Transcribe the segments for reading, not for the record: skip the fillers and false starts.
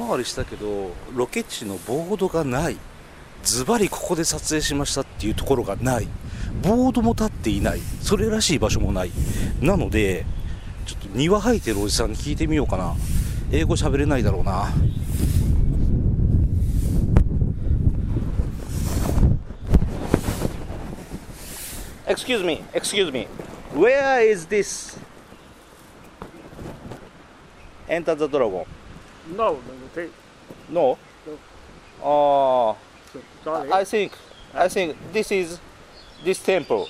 回りしたけどロケ地のボードがない。ズバリここで撮影しましたっていうところがない。ボードも立っていない。それらしい場所もない。なのでちょっと庭生えてるおじさんに聞いてみようかな。英語喋れないだろうな。Excuse me, where is this Enter the Dragon? No. No? Sorry. I think this is this temple.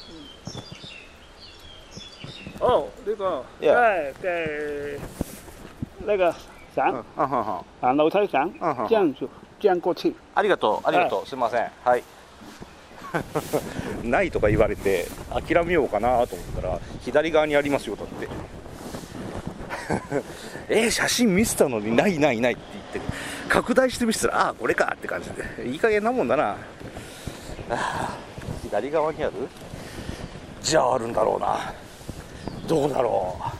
Oh, 呢個 Yeah. 嘅呢個省あ樓梯省這樣過去。 りがとう、すいません。はい。ないとか言われて諦めようかなと思ったら左側にありますよだって写真見せたのにないって言って拡大して見せたらこれかって感じでいい加減なもんだな。左側にある？じゃああるんだろうな。どうだろう。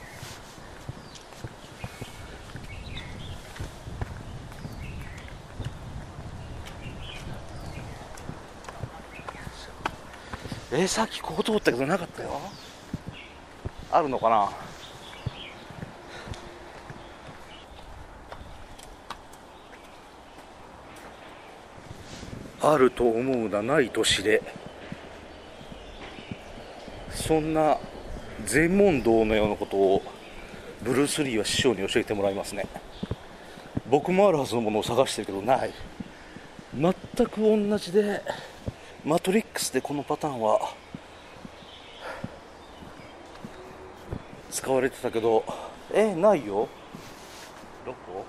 さっきここ通ったけどなかったよ。あるのかな。あると思うな、ないと知れ。そんな禅問答のようなことをブルース・リーは師匠に教えてもらいますね。僕もあるはずのものを探してるけどない。全く同じでマトリックスでこのパターンは使われてたけどないよ。どこ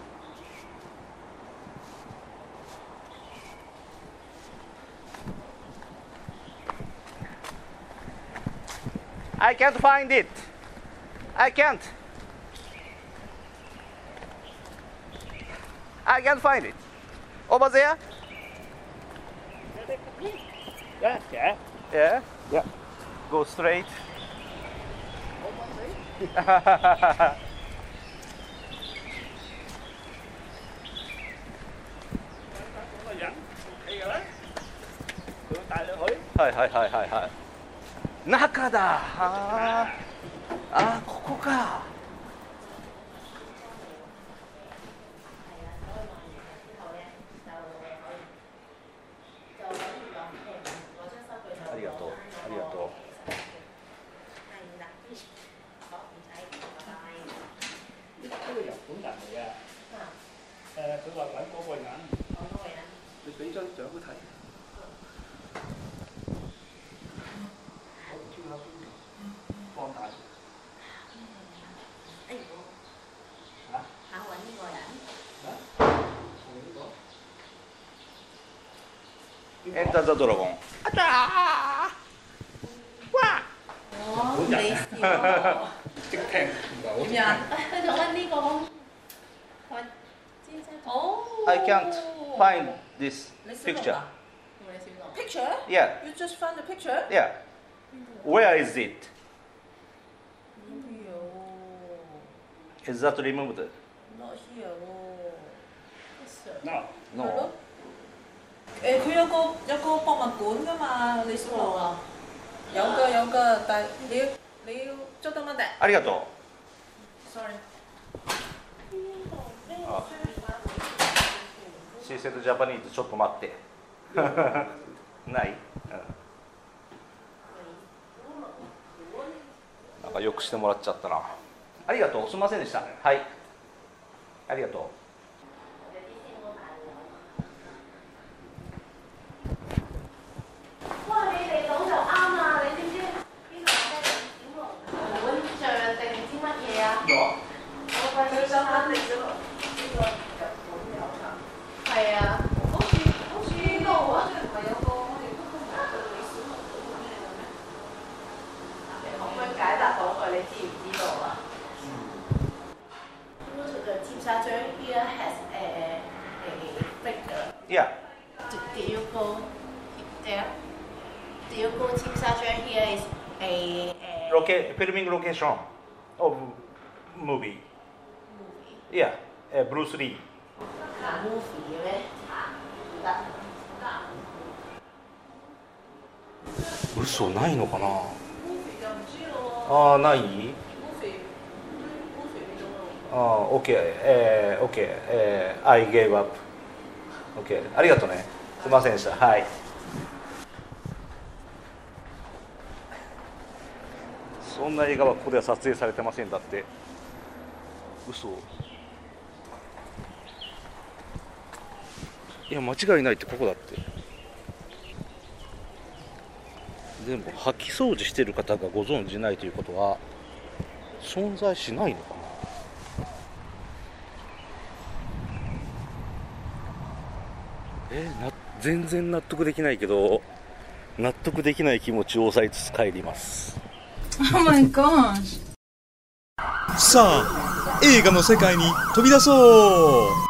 ？I can't find it. I can't find it. Over there? Yeah. Yeah. Go straight. はい。中だ。ここか。ありがとう。 呢個日本人嚟嘅。佢話揾嗰個人。你俾張相佢睇。放大。 揾呢個人。 Enter the Dragon。 你笑即聽唔到。 點樣？佢就揾呢個。 I can't find this picture. Picture? Yeah. You just found the picture? Yeah. Where is it? Is that removed? Not here. No. 佢有個博物館㗎嘛，李小龍啊。有㗎，但係你要捉得乜嘅？ ありがとう。 Sorry。 She said Japanese ちょっと待って。ない？なんかよくしてもらっちゃったな。ありがとう。すみませんでした。はい。ありがとう。 Here has a figure. Yeah. Do you go there? Do you go Tim Sacher? Here is a Filming location of movie. movie. Yeah. Bruce Lee. 嘘ないのかな。ああ、ない。ああ、OK、OK、I gave up。OK、ありがとうね。すみませんでした。はい。そんな映画はここでは撮影されてませんだって。嘘。いや、間違いないってここだって。でも掃き掃除してる方がご存じないということは存在しないのかな。全然納得できないけど、納得できない気持ちを抑えつつ帰ります。 Oh my gosh。 さあ、映画の世界に飛び出そう。